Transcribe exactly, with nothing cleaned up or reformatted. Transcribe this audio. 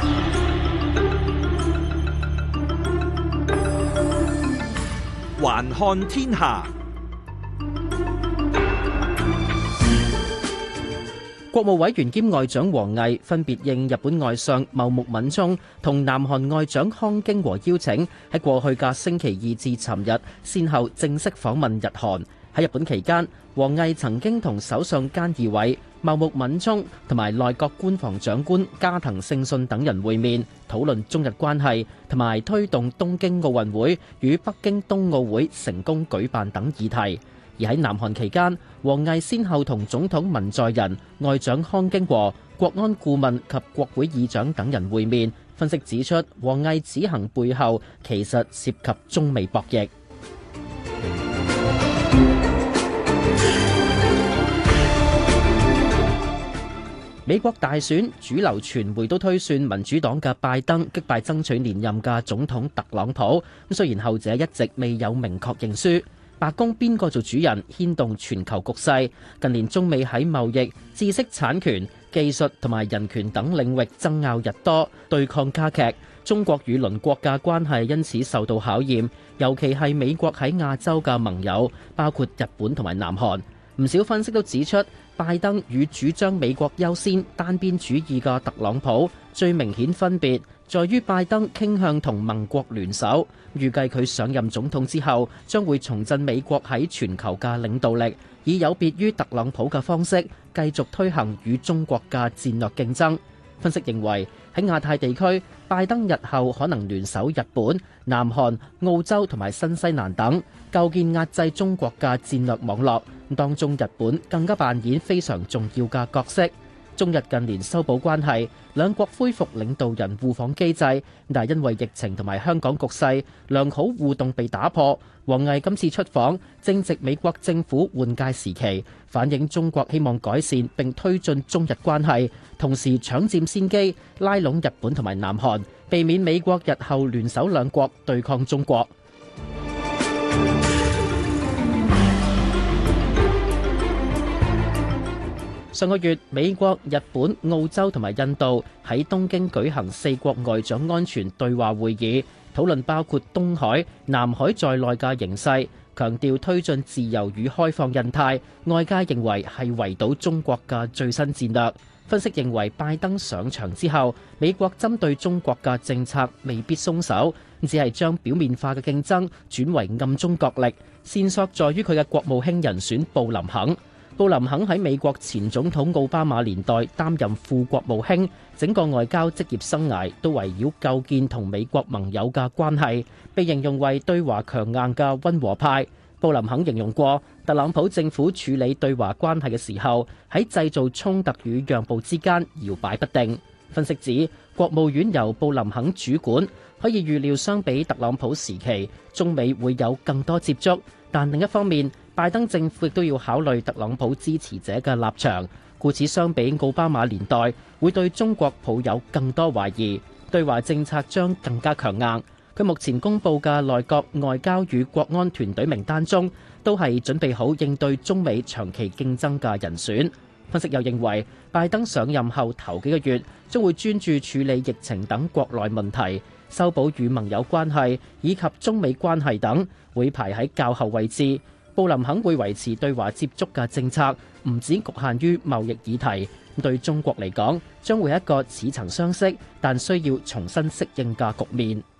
環看天下。 國務委員兼外長王毅分別應日本外相茂木敏充同南韓外長康京和邀請，喺過去嘅星期二至尋日，先後正式訪問日韓。喺日本期間，王毅曾經同首相菅義偉、茂木敏充同埋內閣官房長官加藤勝信等人會面，討論中日關係同埋推動東京奧運會與北京冬奧會成功舉辦等議題。而喺南韓期間，王毅先後同總統文在寅、外長康京和、國安顧問及國會議長等人會面。分析指出，王毅此行背後其實涉及中美博弈。美國大選，主流傳媒都推算民主黨嘅拜登擊敗爭取連任嘅總統特朗普。咁雖然後者一直未有明確認輸。白宮邊個做主人牽動全球局勢。近年中美喺貿易、知識產權、技術同埋人權等領域爭拗日多，對抗加劇。中國與鄰國嘅關係因此受到考驗，尤其係美國喺亞洲嘅盟友，包括日本同埋南韓。唔少分析都指出，拜登與主張美國優先、單邊主義嘅特朗普最明顯分別在於拜登傾向同盟國聯手，預計佢上任總統之後將會重振美國喺全球嘅領導力，以有別於特朗普嘅方式繼續推行與中國嘅戰略競爭。分析認為，喺亞太地區，拜登日後可能聯手日本、南韓、澳洲同埋新西蘭等，構建壓制中國嘅戰略網絡，當中日本更加扮演非常重要嘅角色。中日近年修補關係，兩國恢復領導人互訪機制，但係因為疫情同埋香港局勢，良好互動被打破。王毅今次出訪正值美國政府換屆時期，反映中國希望改善並推進中日關係，同時搶佔先機，拉攏日本同埋南韓，避免美國日後聯手兩國對抗中國。上個月，美國、日本、澳洲同埋印度喺東京舉行四國外長安全對話會議，討論包括東海、南海在內嘅形勢，強調推進自由與開放印太。外界認為係圍堵中國嘅最新戰略。分析認為，拜登上場之後，美國針對中國嘅政策未必鬆手，只係將表面化嘅競爭轉為暗中角力。線索在於佢嘅國務卿人選布林肯。布林肯喺美國前總統奧巴馬年代擔任副國務卿，整個外交職業生涯都圍繞構建同美國盟友嘅關係，被形容為對華強硬嘅溫和派。布林肯形容過，特朗普政府處理對華關係嘅時候，喺製造衝突與讓步之間搖擺不定。分析指，國務院由布林肯主管，可以預料相比特朗普時期，中美會有更多接觸。但另一方面，拜登政府亦都要考慮特朗普支持者嘅立場，故此相比奧巴馬年代，會對中國抱有更多懷疑，對華政策將更加強硬。佢目前公布嘅內閣外交與國安團隊名單中，都係準備好應對中美長期競爭嘅人選。分析又認為，拜登上任後頭幾個月將會專注處理疫情等國內問題，修補與盟友關係以及中美關係等，會排喺較後位置。布林肯會維持對華接觸嘅政策，唔止局限於貿易議題。對中國嚟講，將會係一個似曾相識但需要重新適應嘅局面。